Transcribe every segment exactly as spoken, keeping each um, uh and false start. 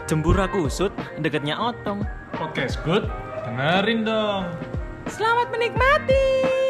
Jembura kusut, deketnya otong. Podcast good, dengerin dong. Selamat menikmati.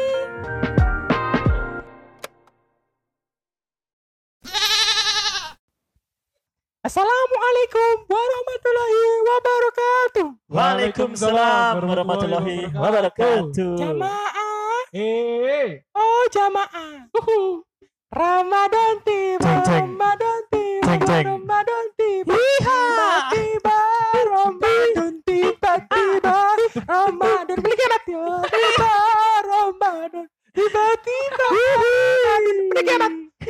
Assalamualaikum warahmatullahi wabarakatuh. Waalaikumsalam warahmatullahi wabarakatuh. Jamaah, Eh, oh jamaah. Uhu. Ramadan tiba, Ceng, ceng. Ramadan tiba, Ceng, ceng. Ramadan tiba, tiba-tiba, Ramadan tiba-tiba, Ramadan beli kemat ya, tiba Ramadan, tiba-tiba, Ramadan beli kemat.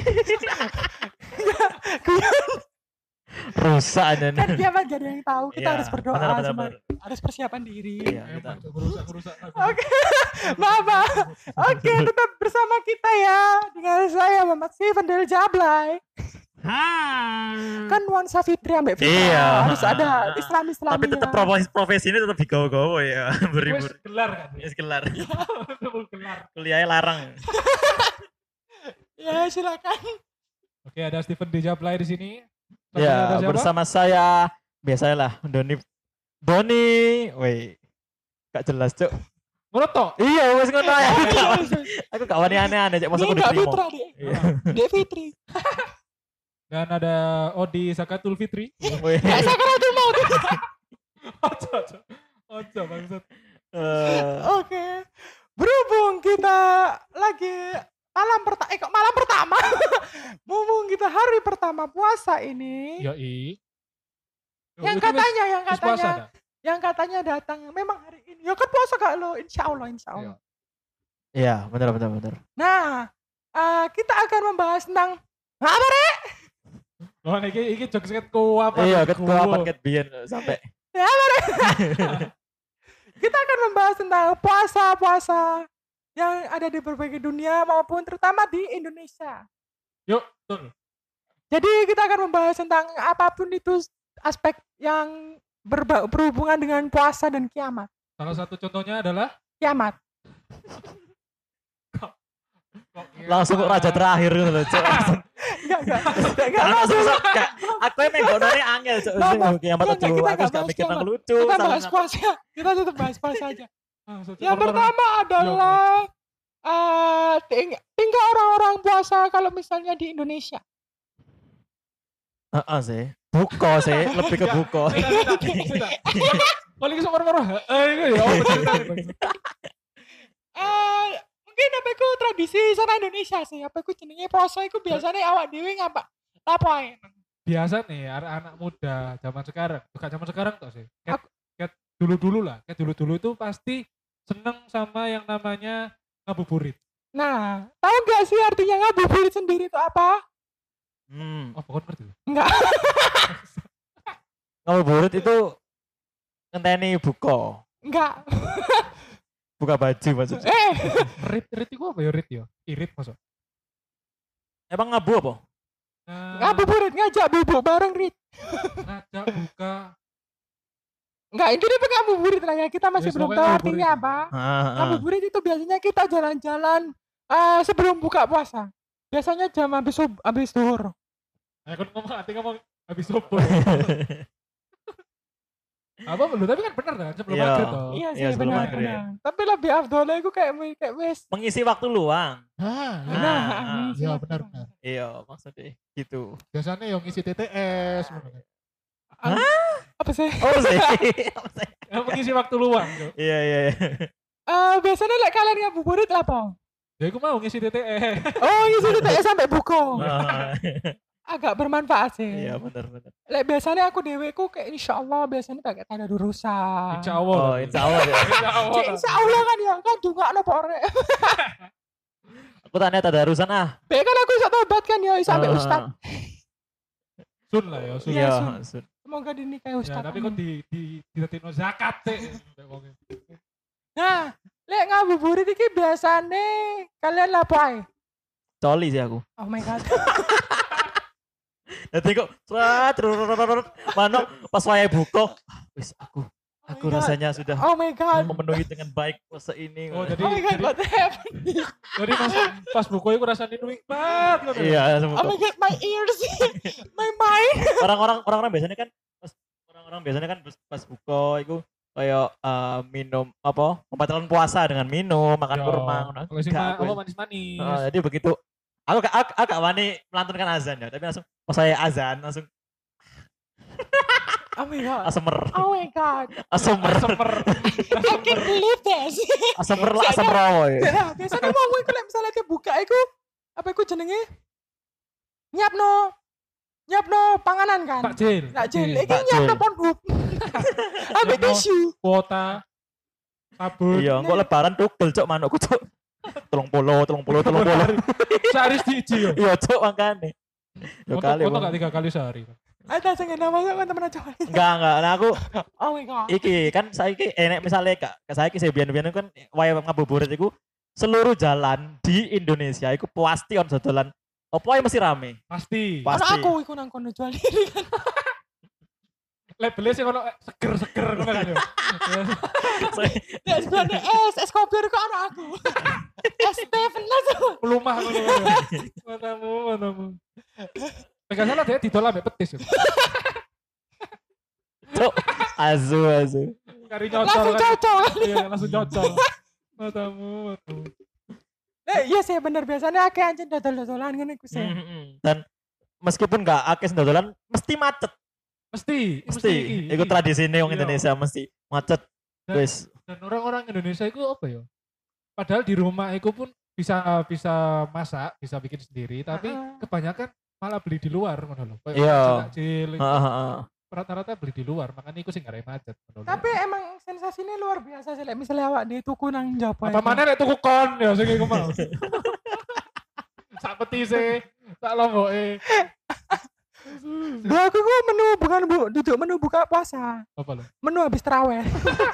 Rusak aja Kan nih. kiamat gak ada yang tahu, kita Iya, harus berdoa, benar, benar, semua. benar. Harus persiapan diri. Iya, kita. emang merusak-merusak. Oke, maaf, maaf. Oke, tetap bersama kita ya dengan saya Muhammad Steven dari Jablay. Kan nuansa Fitri ambek Fitra Iya. harus ada Islam Islam. Tapi tetap profesi profesi ini tetap digawa-gawa ya. Wes Beribur. gelar kan? Ya gelar. Betul gelar. Kuliahnya larang. Ya silakan. Oke, ada Steven di Jablay di sini. Sama Ya, ada siapa? bersama saya biasanya lah Doni Doni. Woi. Gak jelas, Cuk. Menurut toh? Iya, wes ngono ya. Aku gak wani aneh-aneh, Cuk. Masuk Ini aku Kak diterima. Fitra deh. Iya. Dek Fitri. Dan ada Odi Zakatul Fitri. Woi. Gak sakaratul maut. Ojo, ojo. Ojo, bangsat. Eh, Oke. Berhubung kita lagi malam pertama, eh kok malam pertama? Mumpung kita hari pertama puasa ini. Yoi. Yang katanya, yang katanya, yang katanya datang memang hari ini. Ya kan puasa gak lo? Insya Allah, insya Allah. Iya, benar benar benar. Nah, eh, kita akan membahas tentang apa Rek? Loh, ini ini jokes ket ku apa? Iya, Ku. ket gua apa ket biyen sampai. Kita akan membahas tentang puasa-puasa yang ada di berbagai dunia maupun terutama di Indonesia. Yuk, betul. Jadi kita akan membahas tentang apapun itu aspek yang berba- berhubungan dengan puasa dan kiamat. Salah satu contohnya adalah Kiamat. kok iya. Langsung kok raja terakhir gitu loh, Cuk. Langsung. Enggak, enggak. Enggak, enggak. Karena susah gak. Aku emang gonone angel, Cuk. Nggak, nggak. Kiamat Nggak, tuh. kita Aku nggak gak bahas mikir nang kiamat. lucu. Kita salah bahas nang- puasa. Kita tetap bahas puasa aja. Langsung Yang coba pertama adalah eh ting- tinggal orang-orang puasa kalau misalnya di Indonesia. Heeh sih. Buko sih, lebih ke buko. Paling sok moro-moro. Eh, itu ya. Oh, bener, bener. Eh mungkin apa itu tradisi sana Indonesia sih. Apa itu jenenge puasa itu biasanya awak dhewe ngapa? Apa ae? Biasa nih anak-anak muda zaman sekarang, bukan zaman sekarang toh sih. Kayak, Aku- kayak dulu-dulu lah, kayak dulu-dulu itu pasti seneng sama yang namanya ngabuburit. Nah, tahu nggak sih artinya ngabuburit sendiri itu apa? Hmm. Oh, pokoknya ngerti. Enggak. Ngabuburit itu ngenteni buko. Enggak. Buka baju maksudnya. Eh, Rit, rit itu apa ya rit ya? Irit masuk. Emang ngabu apa? Nah, ngabuburit ngajak bubuk bareng Rit. ngajak buka. Enggak, ini apa ngabuburit lah ya. Kita masih Yes, belum pokoknya tahu ngabuburit. artinya apa. Heeh. Ngabuburit itu biasanya kita jalan-jalan eh, sebelum buka puasa. Biasanya jam habis sub- habis zuhur. Aku ngomong, nanti ngomong habis subuh. Apa belum? Tapi kan benar kan sebelum Iya. maghrib toh. Iya Iya, sih sebelum benar maghrib. benar. Tapi lebih afdolnya itu kayak kayak wes. Mengisi waktu luang. Ah, Nah, Nah, ah. ini iya sih. benar benar. Iya, maksudnya gitu. Biasanya yang ngisi T T S. Apa sih? Oh sih. Apa sih? Yang mengisi waktu luang. Jo. Iya, iya, iya. Eh biasanya lek kalian ngabuburit apa? Ya aku mau ngisi T T S. Oh, ngisi T T S sampai buko. Ah, Agak bermanfaat sih. Iya, benar benar. Lek biasanya aku deweku kayak insya Allah biasanya pakai tanda urusan. Insya Allah. Oh, insya Allah ya. Insya Allah. Cik, insya Allah kan ya kan juga no pore. Aku tanya tadarusan ah. Be kan aku bisa tobat kan ya sampai Ah. ustad. Sun lah ya. Sun. Iya, Iya, Sun. Sun. Semoga dinikahi Ya, ustad. tapi kok di di di tetino zakat teh. Nah, lek ngabuburit iki biasane kalian lapo ae? Coli sih aku. Oh my god. Nanti kok seret mano pas wayahe buka. Wis aku aku Oh my God. rasanya sudah Oh my god. memenuhi dengan baik puasa ini. Oh, jadi Oh my god, jadi, what happened? jadi pas pas buku itu rasanya nikmat. ngono. Iya, Oh my god, my ears. My mind. orang-orang orang-orang biasanya kan pas orang biasanya kan pas- pas buka iku kayak eh, minum apa pembatalan puasa dengan minum makan Ya, kurma ngono. Kalau sih Enggak, mah aku apa wis- manis-manis. Heeh, jadi begitu aku gak aku, aku gak wani melantunkan azan ya, tapi langsung pas saya azan langsung Oh my god. asemer. Oh my god. Asemer. Semer. I can't believe this. Asemer lah asem rawo ya. Nah, biasanya mau iku lek misalnya dia buka iku apa iku jenenge? Nyiapno. Nyiapno panganan kan? Takjil. Takjil. Iki Takjil. nyiapno Pornhub. Ambek Nyiapno. tisu. Kuota. Sabun. Iya, engko lebaran tugel cok manukku cok. Telung puluh, telung puluh, telung puluh. Sehari siji yo. Iya cok makane. Yo Untuk kali. untuk Bang. gak tiga kali sehari. Ada sing ngene masuk kan temen aja. Enggak, enggak. Nah aku Oh my god. iki kan saiki enek misalnya kak saiki saya biyen-biyen kan wae ngabuburit iku seluruh jalan di Indonesia iku pasti on dodolan opo ae mesti rame. Pasti. Pas- Ana pasti. aku iku nang kono jual diri kan. Labelnya sih kalau seger-seger ngono kan yo. Ya sebenarnya es, es kopi kok ana aku. Es teh bener. Pelumah ngono. Matamu, matamu. Pegang salah dia ditolak ambek petis. yo. Cok, azu azu. Kari nyocol Langsung kan. cocok. Iya, langsung cocol. Matamu, matamu. Eh, iya sih bener biasanya akeh anjing dodol-dodolan ngene iku sih. Mm-mm. Dan meskipun enggak akeh dodolan mesti macet. Mesti, Mesti. iki, Iku iki. tradisi wong Iya. Indonesia mesti macet. Dan- Wis. Dan orang-orang Indonesia itu apa ya? Padahal di rumah itu pun bisa bisa masak, bisa bikin sendiri, tapi Heeh. kebanyakan malah beli di luar ngono lho. Kayak Iya. takjil, Heeh, heeh. rata-rata beli di luar, makanya iku sing gak macet ngono lho. Tapi emang sensasinya luar biasa sih lek misalnya awak di tuku nang Jawa. apa mana nek tuku kon ya sing iku mau. Sak petise, sak lomboke. Dua aku ku menu bukan bu, duduk menu buka puasa. Apa lho? Menu habis terawih.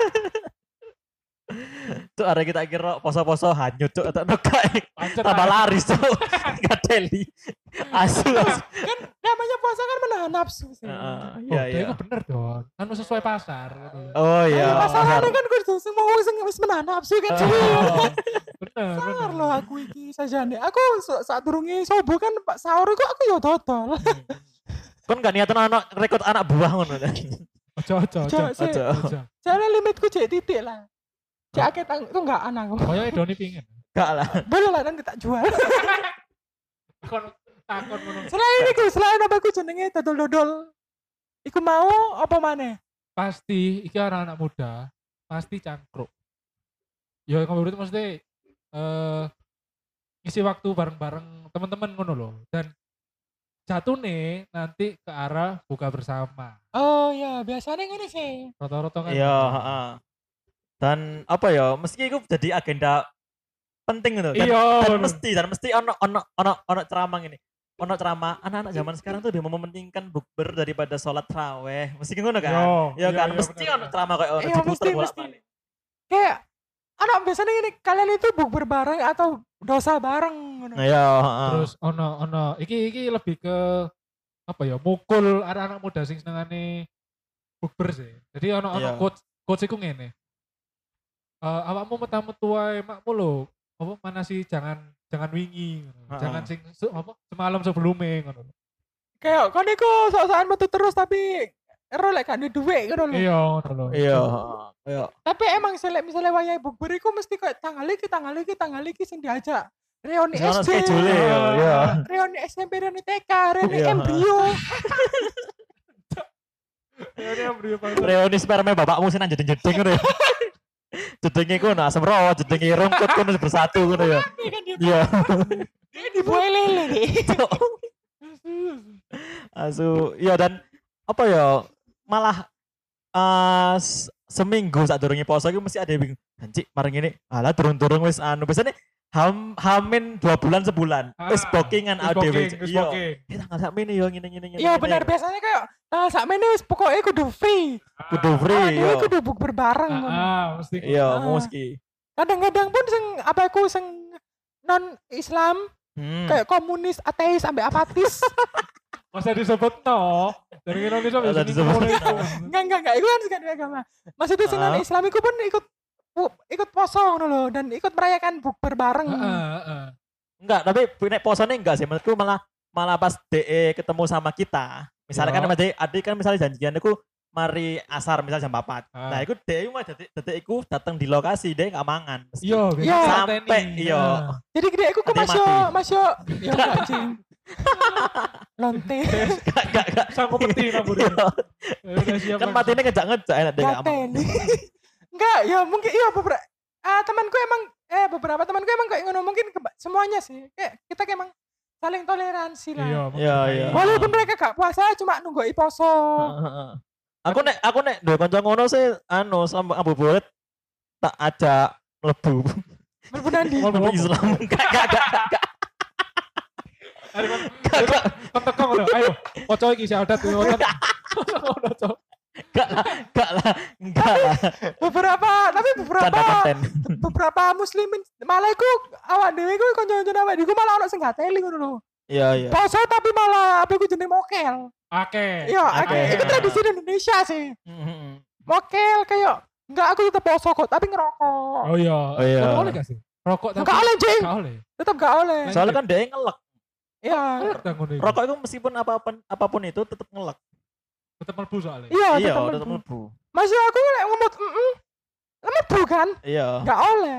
Cuk arek kita kira poso-poso hanyut cuk tak nokai. Pancet Tambah ae. laris cuk. Gadeli. Asu asu. Kan namanya puasa kan menahan nafsu sih. Heeh, Oh, iya dia iya. iku bener dong. Anu sesuai pasar ngono lho. Oh Iya. iya. Masalahnya kan kudu semua wong sing wis menahan nafsu kan. Oh. Bener, Sangar bener. loh aku iki sajane. Aku sa- saat durunge subuh kan Pak sahur iku aku yo dodol. Kon gak niatan anak rekrut anak buah ngono kan. Ojo ojo ojo. Cok, sih. Ojo. Ojo. Soalnya limitku cek titik lah. Cek akeh tang itu enggak anang. Koyo Doni pingin. Gak lah. Boleh lah nanti tak jual. Kon takon ngono. Selain iku, selain apa iku jenenge dodol-dodol. Iku mau apa maneh? Pasti iki anak-anak muda pasti cangkruk. Ya kamu berarti maksudnya eh ngisi waktu bareng-bareng teman-teman ngono loh. Dan jatuh nih nanti ke arah buka bersama. Oh iya, biasanya ngene sih. Rata-rata kan. Iya, heeh. Dan apa ya, meski itu jadi agenda penting gitu. Dan, Iya. dan bener. mesti dan mesti ono ono ono ono ceramah ini. Ono ceramah anak-anak zaman sekarang tuh lebih mementingkan bukber daripada sholat taraweh. Mesti ngono kan? Yo, Ya kan, iya, mesti bener, ono bener. ceramah kayak ono Iya, diputer mesti, mesti. bolak-balik. Kayak anak biasanya gini, kalian itu bukber bareng atau dosa bareng ngono. Nah, iya, heeh. Terus ono ono iki iki lebih ke apa ya mukul anak-anak muda sing senengane bukber sih. Jadi ono ono Iya. coach coach iku ngene. Eh awakmu metu-metu wae makmu lho. Apa mana sih jangan jangan wingi ngono. Ha-ha. Jangan sing se- apa semalam sebelumnya ngono. Kayak kon iku sok-sokan metu terus tapi ero lek gak duwe dhuwit ngono lho. Iya ngono lho. Iya, heeh. Iya. Tapi emang selek misalnya wayahe bukber iku mesti kayak tanggal iki, tanggal iki, tanggal iki sing diajak. Reuni Ono S D, schedule ya, iya. reuni S M P, reuni T K, reuni Iya. embrio. Ya dia beri apa? Reuni sperma bapakmu sih nang jeding-jeding ngono ya. Jedingnya ku ono asam rawa, jedingnya rungkut ku bersatu ngono ya. Iya. Dia dibuai lele deh. Asu, iya dan apa ya malah eh s- seminggu saat durungi poso itu mesti ada yang bingung. Anjir, marang ini, alah turun-turun wis anu. Biasanya ham, hamin dua bulan sebulan. Wis Ah, bookingan wis A D W. booking, wis Iya. booking. Kita nggak sak ini yo ngene ngene ngene. Iya ngene. benar biasanya kayak nah sakmene wis pokoknya kudu free. Kudu Ah, free dia yo. kudu bukber bareng. Ah, ngono. ah, mesti. Iya, Ah. mesti. Kadang-kadang pun sing apa aku sing non Islam Hmm. kayak komunis, ateis, sampai apatis. Masa disebut no. Dari Indonesia Masa bisa disebut disebut no. Enggak enggak enggak itu kan sekali agama. Maksudnya sing non Ah. Islam iku pun ikut pu- ikut poso ngono lho dan ikut merayakan bukber bareng. Enggak, tapi nek posone enggak sih. Menurutku malah malah pas D E ketemu sama kita. Misalnya kan Yo. sama D E, adik kan misalnya janjian aku mari asar misal jam empat. Ah. Nah, iku dhek mah detik detik iku datang di lokasi dhek gak mangan. Mesti. Iya, Iya. Sampai iya. Jadi gede aku kok Nanti masuk mati. masuk ya enggak anjing. Lonte. Gak gak gak. Sanggup peti rambut. Iya. Udah siap. Kan mati ini ngejak-ngejak enak dhek gak mangan. Gaten. Enggak, ya mungkin iya beberapa ah temanku emang eh beberapa temanku emang kayak ngono mungkin keba- semuanya sih. Kayak kita kayak emang saling toleransi lah. Iya, Iya, iya. Walaupun mereka gak puasa cuma nunggu poso. Heeh. Aku nek aku nek duwe kanca ngono sih anu sama Abu Buret tak ajak mlebu. Mlebu nandi. Mlebu Islam. Gak gak gak gak. Ayo kan Gak gak. kan teko ngono. Ayo, oco iki sih adat ngono. Ngono, Cok. Gak lah, gak lah, enggak lah. Beberapa tapi beberapa Canda konten. beberapa muslimin malah iku awak dhewe iku kanca-kanca awak dhewe iku malah ono sing gateli ngono lho. Iya iya. Poso tapi malah apa iku jeneng mokel. Oke. Iya, Oke. okay. Itu tradisi di Indonesia sih. Mhm. Mokel kayak enggak aku tetap poso kok tapi ngerokok. Oh iya. Oh iya. Rokok oleh gak sih? Rokok tapi Enggak oleh, Jing. Enggak oleh. Tetap enggak oleh. Soalnya kan dia ngelek. Iya. Oleh dah ngono iku. Rokok itu meskipun apapun apapun itu tetap ngelek. Tetep mlebu soalnya. Iya, Iya, tetap tetap mlebu. mlebu. Masih aku lek ngomot heeh. Mlebu kan? Iya. Enggak oleh.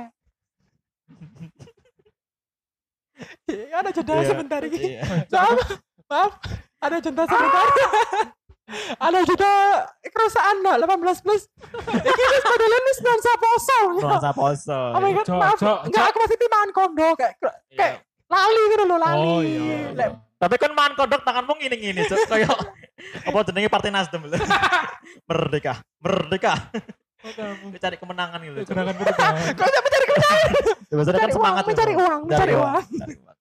Ya, ada jeda Iya. sebentar iki. Iya. Maaf, maaf, ada jeda sebentar. Ada jeda kerusakan no, delapan belas plus. Iki wis padahal wis nuansa poso. Nuansa poso. Oh my god, Cok, maaf. cok, Enggak, cok. aku masih timaan kondo kayak kayak Iya. lali gitu loh, lali. Oh iya. Lek, Tapi kan man kodok tanganmu ngini-ngini, Cuk. Kayak apa jenenge Partai Nasdem lho. Merdeka, merdeka. Kamu Cari kemenangan gitu. Cuk. gerakan perubahan. kok sampai cari kemenangan? Ya, biasanya kan Mencari semangat uang, mencari gitu. uang, mencari uang. Cari uang.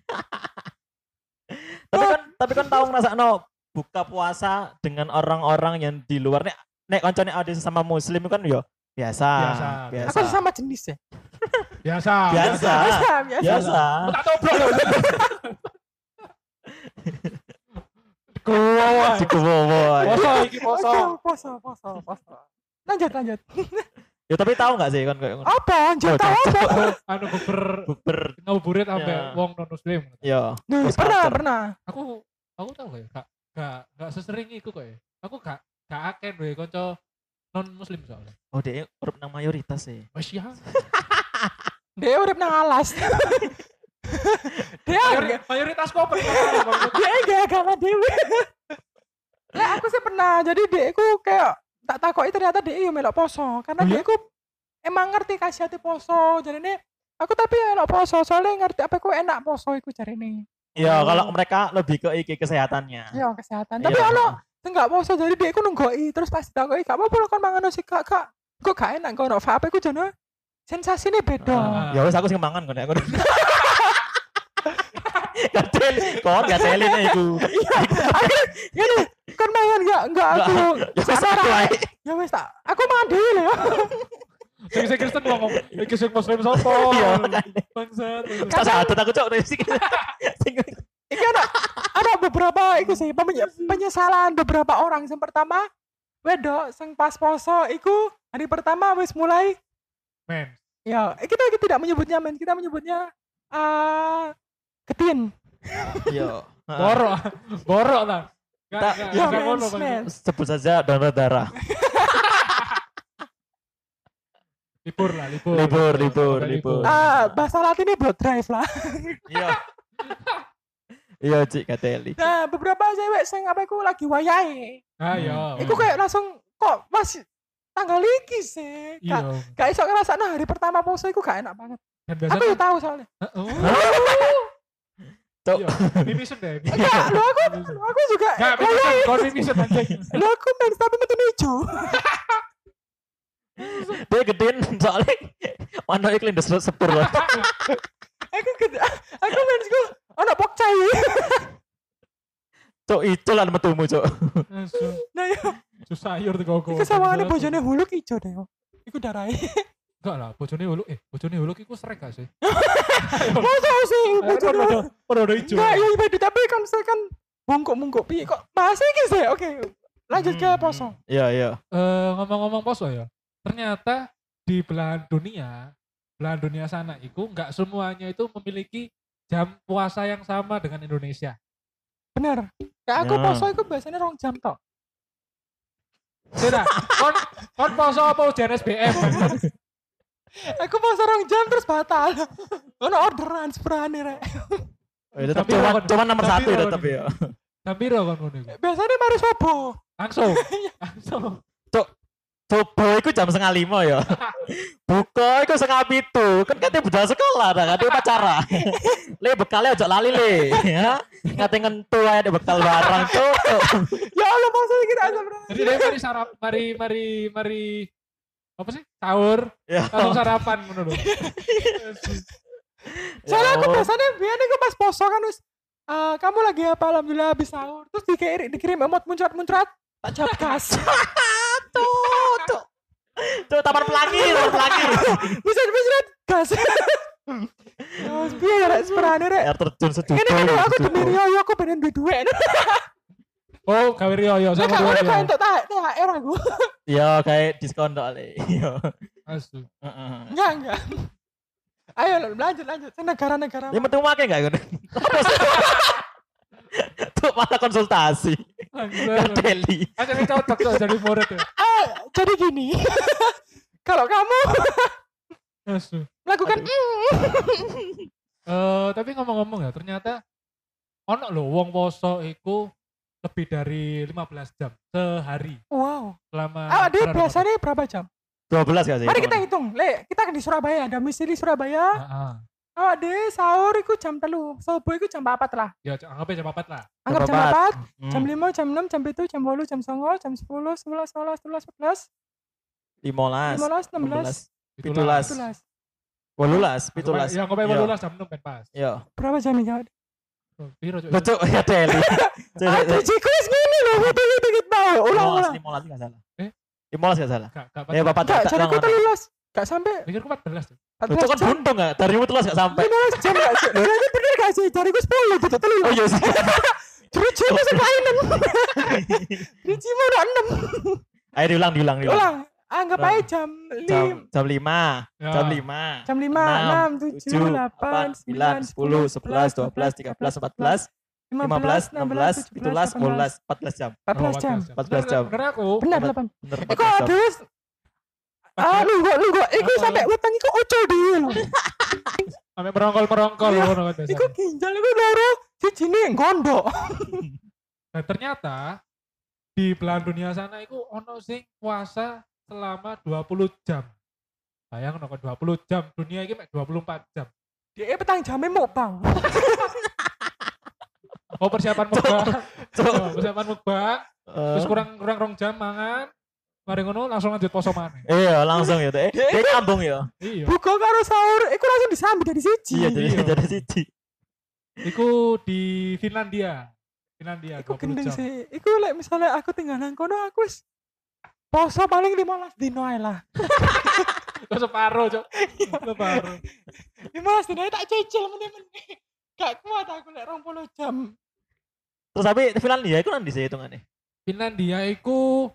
Tapi kan tapi kan tahu ngrasakno buka puasa dengan orang-orang yang di luar nek nek koncone ada sama muslim kan yo biasa. Biasa, Biasa. Aku sesama jenis ya. Biasa. Biasa. Biasa, biasa. Biasa. Tak tobrok lho. Kuwi. Dikuwowo. Poso iki poso. Poso, poso, poso, poso. Lanjut, lanjut. Ya tapi tahu nggak sih kan kayak ngono? Apa? Anjir, Oh, tahu apa? Anu bukber Bukber. ngabuburit sampe Ya. wong non muslim. Ya. Duh, Post pernah, culture. pernah. Aku aku tahu gak ya, gak gak gak sesering iku kok ya. Aku gak gak akeh duwe kanca non muslim soalnya. Oh, dia urip nang mayoritas sih. Wes ya. Dia urip nang alas. Dia Mayori- Mayoritas kok pernah. dia gak agama dewe. Lah aku sih pernah. Jadi dia aku kayak tak takoki ternyata dia yo melok poso karena Oh dia iya? aku emang ngerti khasiate poso. Jadi ini aku tapi melok poso soalnya ngerti apa aku enak poso iku jarine. Ya, Oh. kalau mereka lebih ke iki kesehatannya. Ya kesehatan. Iya. Tapi ono enggak poso jadi dia aku nunggoi terus pas ditakoki gak apa-apa lo kan mangan sih kak kak. Kok gak enak kok ono vape ku jono. Sensasinya beda. Ah. Ya wis aku sing mangan kok nek aku. Gatel, kon gatelin iku. Ini kan mangan enggak enggak aku. Ya wis aku ae. Ya wis tak. Aku mangan dhewe lho. Sing sing Kristen ngomong, iki sing muslim sapa? Iya, Bangsat. tak sadar aku cok sing sing Iki ada ada beberapa iku sih pemenye- penyesalan beberapa orang. Yang pertama wedok sing pas poso iku hari pertama wis mulai Men. ya kita tidak menyebutnya men, kita menyebutnya ah ketin. Yo. Borok. Borok lah. Gak Tak- gak Ya gak ngono, mens, Bang. mens. Sebut saja donor darah. Libur lah, libur. Libur, libur, Sampai libur. Ah bahasa latinnya blood drive lah. Iya. Iya, Cik Gateli. Nah, beberapa cewek sing apa iku lagi wayahe. Ah iya. Iku kayak langsung kok masih tanggal iki sih. Gak, Iya. gak iso ngerasakno hari pertama poso iku gak enak banget. Dan Aku biasanya ya tahu soalnya. Oh. Cok. Iya. Mimisen deh. Enggak, lu aku lu aku juga Gak mimisen, kon mimisen anjing. lu aku mens tapi metu hijau. Dia gedein soalnya mana iklim des sepur loh. Aku gede, aku mensku ana pokcai. Cok itu lah metumu, Cok. Langsung. Nah ya, Susah sayur tuh koko. iku sawangane bojone huluk ijo deh. Iku darahe. Enggak lah, bojone huluk eh bojone huluk iku srek gak sih? Masa sih bojone. Podo ijo. Enggak, ya ibadah tapi kan saya kan bungkuk-bungkuk piye kok bahasa iki sih. Oke. Lanjut ke Hmm. poso. Iya, iya. Eh, ngomong-ngomong poso ya, ternyata di belahan dunia, belahan dunia sana itu nggak semuanya itu memiliki jam puasa yang sama dengan Indonesia. Bener. Kayak aku Ya. poso iku biasanya rong jam tok. Tidak. Kon kon poso apa ujian S B M? Aku mau sarang jam terus batal. Ono orderan sepurane rek. Oh, ya, tetap Tapi cuma kon- cuma nomor tapi satu ya kon- tetap ya. Jam piro kon ngono iku? Biasanya mari sobo. Langsung. Langsung. Coba iku jam setengah lima ya. Buka iku setengah pitu. Kan katanya budal sekolah dah, katanya pacara. Le bekalnya ojo lali le. Ya. Katanya ngentu aja ada bekal barang tuh. Ya Allah maksudnya kita aja bro. Jadi dia mari sarap, mari mari mari apa sih? Sahur, Ya. langsung sarapan ngono lho. Soalnya aku Ya. biasanya biasanya aku pas poso kan wis eh, kamu lagi apa alhamdulillah habis sahur terus dikirim dikirim emot muncrat-muncrat tak jawab gas. Tuh, tuh. Tuh taman pelangi, taman pelangi. Bisa muncrat gas. Ya wis piye ya rek sepurane rek. Air terjun sejuta. Ini kan aku sejuta. demi Rio aku pengen duit duit. Oh, gawe riyo Saya sama gak boleh riyo. kan untuk T H R aku. Iya kayak diskon dok le. Iya. Asu. Heeh. Enggak enggak. Ayo lanjut lanjut. Saya negara-negara. Ini metu make enggak gitu? Tuh malah konsultasi. Langsung. Deli. Kan jadi cocok tuh jadi murid ya. Ah, jadi gini. Kalau kamu Asu. melakukan Eh, tapi ngomong-ngomong ya, ternyata ono lho wong poso iku lebih dari lima belas jam sehari wow. selama Ah, dia bulan biasanya berapa jam? dua belas gak sih? Mari kita hitung. Le, kita kan di Surabaya, ada misi di Surabaya. Ramadan. Heeh. Oh, deh sahur iku jam telu, subuh iku jam empat lah. Ya anggap aja jam empat lah. Anggap jam empat. empat, Hmm. jam lima, jam enam, jam tujuh, jam delapan, jam sembilan, jam sepuluh, sebelas, sebelas, sebelas, sebelas, limolas. lima belas, enam belas, Pitulas. sebelas. Wolulas, pitulas. Ya anggap aja Iya. lululas jam enam kan pas. Iya. Berapa jam ya? Oh, Piro cuk? Betul ya Deli. Ah, tujuhku wis ngene lho, dikit-dikit mau. Ulang ulang. Limolas enggak salah. Eh? Limolas enggak salah. Gak gak Ya bapak Enggak, tak jadi aku telulas. Gak sampai Pikirku empat belas tuh. Itu empat belas kan jam. buntung enggak? Dari telulas enggak sampai. lima belas jam gak sih? Berarti bener gak sih? Jariku sepuluh gitu Oh telulas. iya sih. Driji mu sing mainan. Driji mu udah enam. Ayo diulang, diulang, diulang. Ulang. Anggap aja jam Jam lim. jam lima, Ya. jam lima. Jam lima, enam, tujuh, delapan, sembilan, sepuluh, sebelas, dua belas, tiga belas, empat belas, lima belas, enam belas, pitulas, wolulas, empat belas jam. empat belas jam. empat belas jam. Bener aku. Benar delapan. Bener Iku adus. Ah, nunggu nunggu. Iku Apa? sampai utang iku ucul dhewe lho. Sampai merongkol-merongkol Iya. ngono kan biasa. Iku ginjal iku loro. Sijine gondok. Nah, ternyata di belahan dunia sana itu ono sing puasa selama dua puluh jam. Bayang ono dua puluh jam, dunia ini mek dua puluh empat jam. Dia petang jamnya mau bang. Oh persiapan mukbang. Oh, persiapan mukbang, Eh, terus kurang kurang rong jam mangan. Mari ngono langsung lanjut poso maneh. Iya, langsung ya. Eh, dia nyambung ya. Iya. Buka karo sahur. Iku langsung disambut dari siji. Iya, jadi Iya. jadi siji. Iku di Finlandia. Finlandia Iku dua puluh gendeng jam. sih. Iku lek misalnya aku tinggal nang kono aku wis poso paling lima belas dino ae lah. Kok separuh, Cok. Separuh. lima belas dino ae tak cicil meneh-meneh. Gak kuat aku lek dua puluh jam. Terus tapi Finlandia itu nanti sih hitungannya. Finlandia iku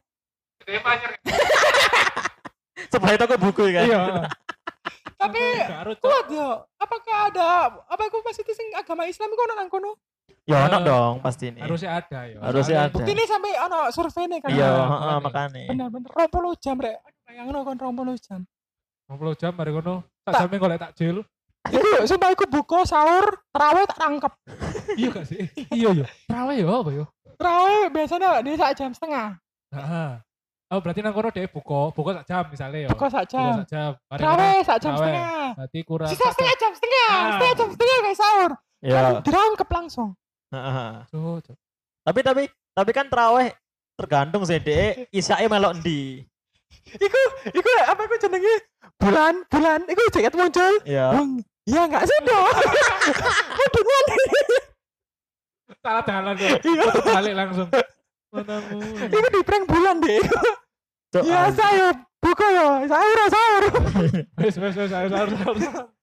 Sebelah itu aku buku kan. iya. Tapi Garut, Cok. kuat ya. Apakah ada apa aku masih sing agama Islam iku ono nang kono? Ya ono Eh, dong pasti ini. Harusnya ada ya. Harusnya Soalnya ada. Bukti ini sampai ono surveinya kan. Iya, Ah, heeh, makanya. makanya. Bener-bener dua puluh jam rek. Aduh bayangno kon dua puluh jam. dua puluh jam mari ngono. Tak Tak. sampe golek takjil. Iku sumpah iku buka sahur, tarawih tak rangkep. Iya gak sih? Iya iya. Terawih ya apa ya? Tarawih biasanya dia sak jam setengah. Heeh. Oh berarti nang kono dhek buka, buka sak jam misalnya ya. Buka sak Buka jam. sak jam. Mari Tarawih sak jam Tarawih. setengah. Berarti kurang Sisa setengah jam setengah, Ah. setengah jam setengah kayak sahur. Iya. Dirangkep langsung. Heeh. Cuk, cuk. Tapi tapi tapi kan terawih tergantung sih dek. Isyae melok ndi. Iku, iku apa iku jenenge bulan, bulan. Iku jaket muncul. Iya. Wong, iya enggak sih dong. Hubungan. Salah jalan tuh. Iya. Putar balik langsung. Manamu. Iku di prank bulan deh. Cuk, Iya anjing. saya buka ya, sahur sahur. Wes wes wes harus harus harus.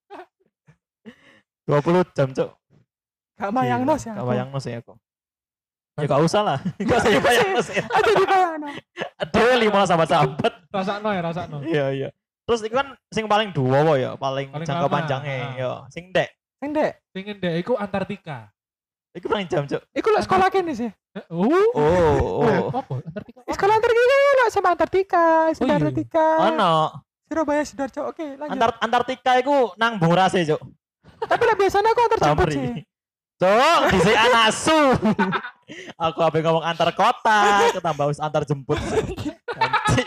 dua puluh jam, Cuk. Gak bayang nos ya. Gak bayang nos ya aku. Ya gak usah lah. Gak usah ya bayang nos ya. Aduh di bayang. Ada lima sahabat-sahabat. Rasakno ya rasakno. Iya iya. Terus itu kan sing paling dua wo ya, paling, Paling jangka lama. panjangnya. Ah. Yo, sing dek. Sing dek, Pengen deh iku Antartika. Iku paling jam, Cuk. iku lek sekolah kene sih. Eh, Oh. Oh, oh. Apa? Antartika. Sekolah terkini lek sepak Antartika, Oh, iya. Antartika. Ono. Surabaya Sidoarjo. Oke, lanjut. Antar Antartika iku nang Bung Rase, Cuk. Tapi lah biasanya aku antar jemput sih. Samri. Cuk, dhisik anasu. Aku ape ngomong antar kota, ketambah wis antar jemput. Nanti.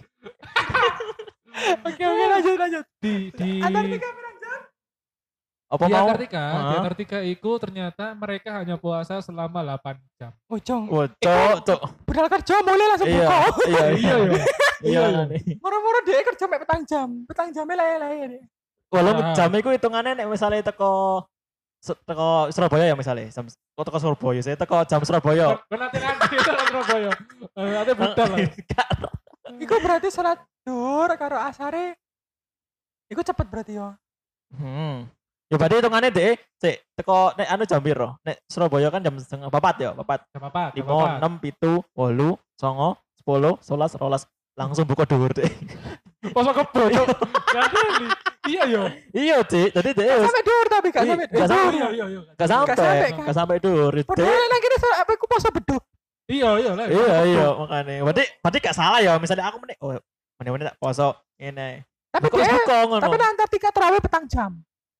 Oke, oke lanjut lanjut. Di di Antartika berapa jam? Apa di mau? Antartika, di Hah? Antartika itu ternyata mereka hanya puasa selama delapan jam. Oh, Jong. Wah, Cuk, Cuk. Padahal kerja mulai langsung Iya, buka. iya, iya. Iya, Iya, iya. nih. Moro-moro dia kerja sampai petang jam. Petang jamnya lele-lele. Walau Ah. jam iku hitungannya nek misalnya teko se- teko Surabaya ya misalnya, jam kok teko Surabaya, saya teko jam Surabaya. Kan nanti nanti itu Surabaya. Eh, Nanti budal lah. Iku berarti salat duhur karo asare. Iku cepet berarti yo. Hmm. Ya berarti hitungannya deh, cek teko nek anu jam piro? Nek Surabaya kan jam setengah papat ya, papat. Jam apa? Jam Lima, apa? enam, pitu, wolu, songo, sepuluh, sebelas, rolas, langsung buka dhuwur deh. Poso kebo, Cuk. Gak ada. Iya yo. Iya cek, jadi deh Gak sampai duhur tapi gak Iya, sampai. gak eh, sampai. duhur. Iya iya iya. gak sampai, sampai, kan? gak sampai dhuwur. Dek. Padahal nang kene salat apa iku poso beduk. Iya iya lah. Iya iya makanya. Berarti berarti gak salah ya, misalnya aku meneh, oh meneh-meneh tak poso ngene. Tapi Buka wis dia buka ngono. tapi nang Antartika terawih petang jam.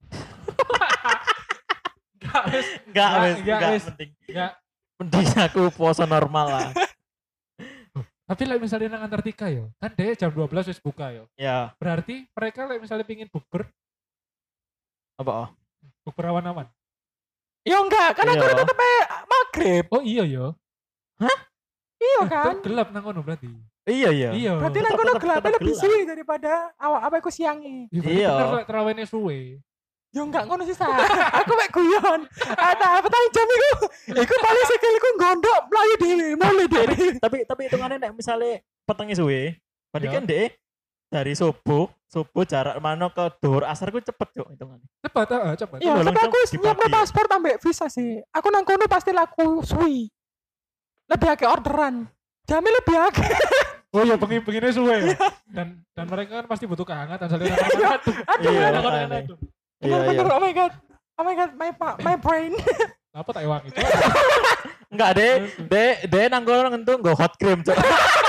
Gak wis. Enggak Nggak, wis, nggak, enggak wis. penting. Nggak. Penting aku poso normal lah. Tapi like misalnya nang Antartika yo, kan dia jam dua belas wis buka yo. Ya, Berarti mereka like misalnya pingin bukber, apa oh? bukber awan-awan. Ya enggak, kan aku Iya. tetep maghrib. Oh iya yo. Iya Kan kan? gelap nang kono berarti. Iya iya. Iya. Berarti nang Tetep- kono tetep- gelapnya tetep lebih gelap. suwi daripada awak apa iku siangi. Iya. Iya. Bener lek terawihnya suwe. Ya enggak ngono sih sa. Aku mek guyon. Ada petang jam iku. Iku paling sikilku gondok mlayu dhewe, mulai dhewe. Tapi tapi hitungannya nek misalnya petengnya suwe, berarti Ya. kan deh dari subuh, subuh jarak mana ke dhuwur asar ku cepet yo hitungannya. Cepat ah, cepat. Iya, Bolong tapi jam aku dibagi nyiapno ya. paspor ambek visa sih. Aku nang kono pasti laku suwi. Lebih akeh orderan. Jamnya lebih akeh. Oh iya, pengen pengennya suwe. Dan dan mereka kan pasti butuh kehangatan saling aduh. Aduh, Iya, aduh, makanya. aduh. Iya iya. bener-bener oh my god. Oh my god, my pa- my brain. Apa tak ewangi itu? Enggak deh, deh deh nang kono ngentu nggo hot cream, Cok.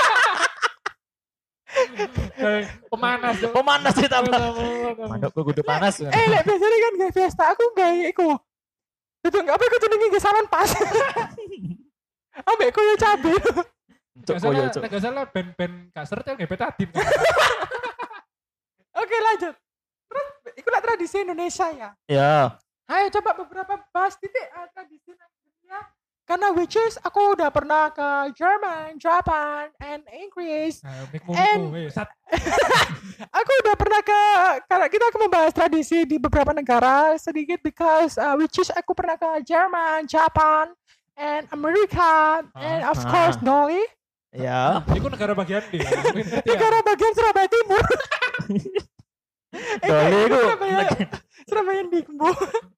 Kayak pemanas. Cok. Pemanas sih tambah. Manukku kudu panas. Eh, lek biasanya kan gak fiesta aku gak iku. Itu enggak apa iku jenenge gak salon pas. Ambek koyo cabe. Cok Gak koyo salah, cok. gak salah band-band kasar tuh nggak betadin. Oke, lanjut. Terus iku lah tradisi Indonesia ya. Ya. Ayo coba beberapa bahas titik uh, tradisi nang dunia. Karena which is aku udah pernah ke Jerman, Japan, and Inggris. Nah, mik And- mumpu, sat. Aku udah pernah ke karena kita akan membahas tradisi di beberapa negara sedikit because uh, which is aku pernah ke Jerman, Japan, and Amerika, and of Ah. course Dolly. Ya. Iku negara bagian di. Mungkin ngerti ya. Negara bagian Surabaya Timur. Eh, Dolly itu iku Surabaya, Surabaya Dimbu.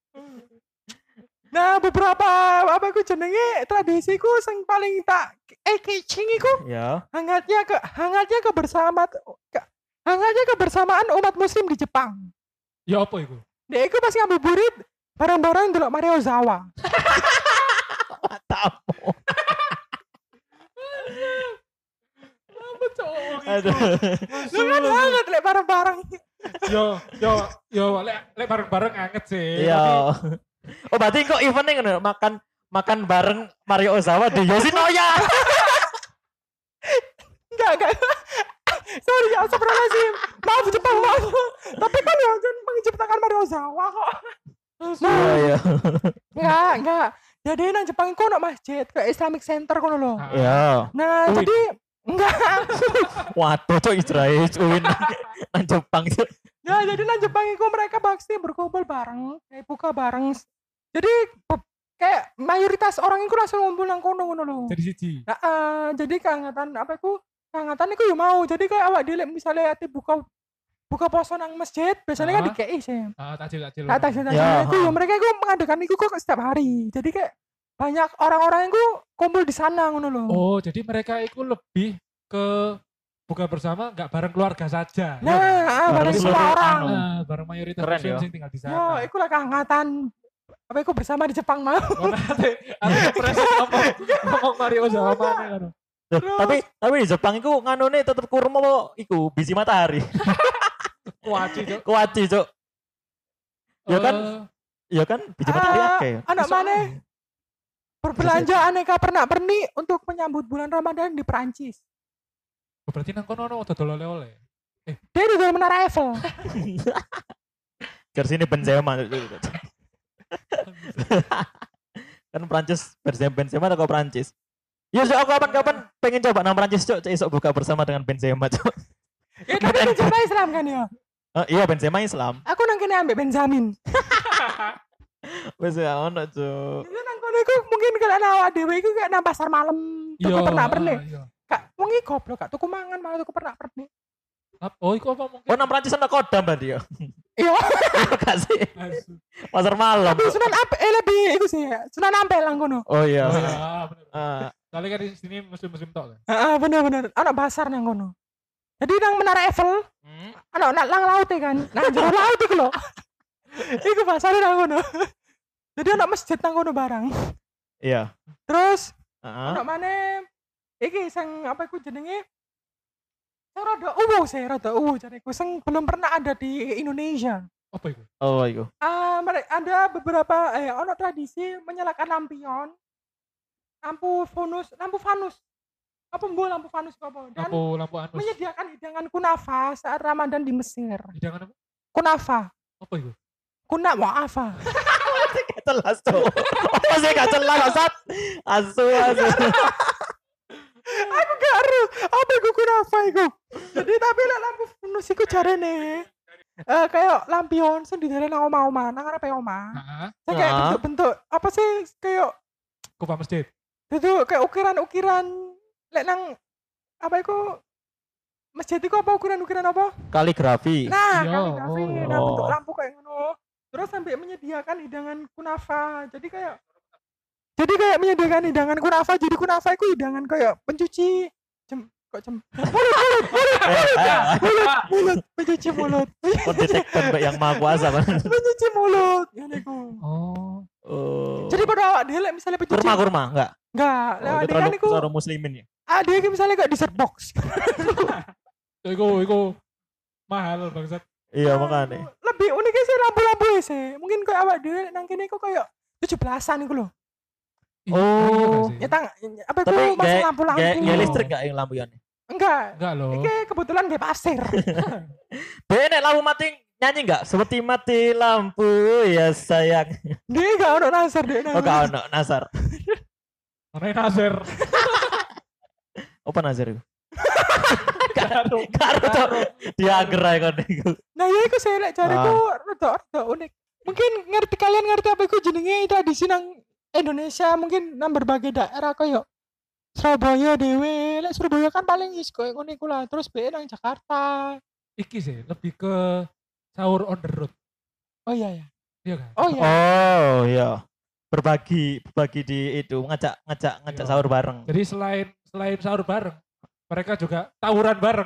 Nah, beberapa apa iku jenenge tradisiku sing paling tak eh catching iku Ya. hangatnya ke hangatnya kebersamaan ke, hangatnya kebersamaan umat muslim di Jepang. Ya apa iku? Dek iku pas ngabuburit bareng-bareng delok Mario Zawa. Tamu. Apa cowok Aduh. Lu kan hangat lek bareng-bareng. Yo yo yo lek lek bareng-bareng anget sih. Iya. Oh berarti kok eventnya ngono makan makan bareng Mario Ozawa di Yoshinoya. Enggak, enggak. Sorry, ya astagfirullahaladzim. Maaf Jepang, maaf. Tapi kan ya kan menciptakan Mario Zawa kok. Iya iya. Enggak, enggak. Jadi nang Jepang iku ono masjid kayak Islamic Center kono lho. Ah, Iya. Nah, Uin. jadi enggak. Waduh cok Israel uin nang Jepang cok. Ya, jadi nang Jepang iku mereka pasti berkumpul bareng, kayak buka bareng. Jadi be- kayak mayoritas orang iku langsung ngumpul nang kono ngono lho. Jadi siji. Nah, eh, jadi kehangatan apa iku? Kehangatan iku yo mau. Jadi kayak awak dhewe misalnya ati buka buka poso nang masjid, biasanya kan Ah. dikei sih. Ah, takjil takjil. Nah, tajil tajil Ya, itu ha. yo mereka iku mengadakan iku kok setiap hari. Jadi kayak banyak orang-orang iku kumpul di sana ngono lho. Oh, jadi mereka itu lebih ke buka bersama nggak bareng keluarga saja. Nah, ya, ah, bareng Bareng semua seluruh orang. anu. Nah, bareng mayoritas Keren, muslim ya. sing tinggal di sana. Yo, iku lah kehangatan apa iku bersama di Jepang mau. Ngono ate ate presiden ngomong ngomong Mario Ozawa mana kan. Tuh, Terus- tapi tapi di Jepang iku nganune tetep kurma apa iku biji matahari. Kuaci, Cuk. Kuaci, Cuk. Ya kan? Eh, Ya kan biji matahari Ah, akeh. anak iso mana ae. berbelanja aneka pernak-pernik untuk menyambut bulan Ramadan di Perancis. Oh, berarti nang kono ono dodol oleh-oleh. Dia di dalam menara Eiffel. Ke sini Benzema. Kan Prancis Benzema Benzema atau Prancis. Ya, so, aku kapan-kapan pengen coba nang Prancis, Cuk. Esok buka bersama dengan Benzema, Cuk. Ya tapi Benzema Islam kan ya. Eh, iya Benzema Islam. Aku nang kene ambek Benjamin. Wes ya ono, Cuk. Itu nang kono iku mungkin kalau nang awak dhewe iku kayak nang pasar malam tuku Iya, pernak-pernik. ah, iya. Kak, wong iki goblok gak tuku mangan malah tuku pernak-pernik. Ap- Oh, iku apa mungkin? Oh, nang Prancis ana kodam berarti ya. Iya, Iya gak sih? Asu. Pasar malam. tapi Sunan Ampel eh lebih iku sih, Sunan Ampel nang kono. Oh iya. Oh, iya, bener. Ah, Soalnya kan di sini musim-musim tok kan. Heeh, bener-bener. Ana pasar nang kono. Jadi nang menara Eiffel, hmm? ana nang lang laut e kan. Nah, jero laut iku lho. Iku pasar nang kono. Jadi ana masjid nang kono barang. Iya. Terus Heeh. ana maneh iki sing apa iku jenenge? Sing rada uwu sih, rada uwu jariku sing belum pernah ada di Indonesia. Apa itu? Oh, iku. Ah, mere- ada beberapa eh ono tradisi menyalakan lampion, lampu fanus, lampu fanus. Apa mbu lampu fanus apa? Dan Lampu lampu anus. menyediakan hidangan kunafa saat Ramadan di Mesir. Hidangan apa? Kunafa, Apa itu? kuna muafa. Gak jelas, Cuk. Apa sih gak jelas, Sat? Asu, asu. Aku gak ero apa iku kunafa iku. Jadi tapi lek lampu fanus iku jarene eh kayak lampion sing didelek nang omah-omah, nang ngarepe omah. Heeh. Sing kayak Ah. bentuk-bentuk apa sih kayak Kupa masjid. itu kayak ukiran-ukiran lek nang apa iku masjid iku apa ukiran-ukiran apa? Kaligrafi. Nah, Iya, kaligrafi, oh. nah bentuk lampu kayak ngono. Terus sampai menyediakan hidangan kunafa. Jadi kayak jadi kayak menyediakan hidangan kunafa. Jadi kunafa itu hidangan kayak pencuci jem kok jem Eh, eh, mulut, pencuci mulut. kok detektor Mbak yang maha kuasa kan? pencuci mulut. Ya niku. Oh. Oh. Jadi pada awak dia lek misalnya pencuci kurma kurma enggak? enggak, lek Oh, awak itu dia kan terlalu niku terlalu muslimin ya. ah dia iki misalnya kayak dessert box. Iku iku mahal bangsat. Iya makanya. Lebih uniknya sih lampu-lampu sih. Mungkin kayak awak dia nang kene iku kayak tujuh belasan iku lho. Iya, Oh. iya gak sih? Ya tang apa Tapi itu masuk kayak lampu-lampu. kayak Iya. listrik enggak yang lampionnya? Enggak. Enggak loh. Iki kebetulan gak pasir. Benek lampu mati nyanyi enggak? Seperti mati lampu ya sayang. Dia gak ono nasar dia. Oh gak ono Nasar. Mana Nasir? Apa Nasar itu? Karo karo dia gerai kon iku. Nah ya iku saya lek cariku Ah. rada rada unik. Mungkin ngerti kalian ngerti apa iku jenenge tradisi nang Indonesia mungkin nang berbagai daerah koyo Surabaya dewe, lek Surabaya kan paling wis koyo ngono iku lah. Terus be nang Jakarta. Iki sih lebih ke sahur on the road. Oh iya ya. Iya kan? Oh iya. Oh iya. Berbagi berbagi di itu ngajak ngajak ngajak Iya. sahur bareng. Jadi selain selain sahur bareng, mereka juga tawuran bareng.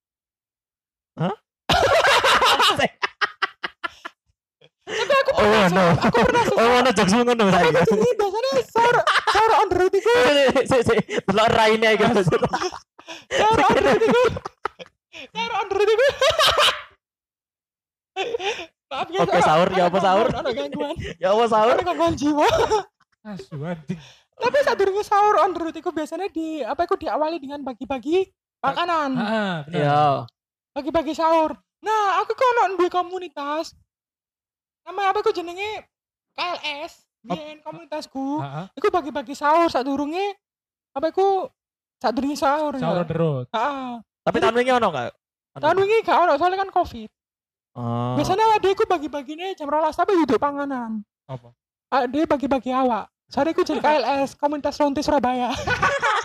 Oh no. Oh no jokes ngono Tapi saiki. aku jenenge biasanya sahur sahur on the road iku. Si si delok raine iki. Sahur on the road iku. Sahur on the road iku. Maaf ya. Oke, sahur, ya apa sahur? Ada gangguan. Ya apa sahur? Ada gangguan jiwa. Asu anjing. Tapi saat durungnya sahur on the road itu biasanya di apa itu diawali dengan bagi-bagi makanan, Heeh, benar. Iya. bagi-bagi sahur. Nah, aku kok ono di komunitas. Nama apa aku jenenge K L S, di komunitasku. Heeh. Iku bagi-bagi sahur saat durungnya apa iku saat durungnya sahur. Sahur on ya. the road. Heeh. Tapi tahun wingi ono enggak? Tahun wingi gak ono soalnya kan Covid. Oh. Biasanya adekku bagi-bagine jam rolas tapi duduk panganan. Apa? Ade bagi-bagi awak. Soalnya aku jadi K L S, komunitas Ronti Surabaya.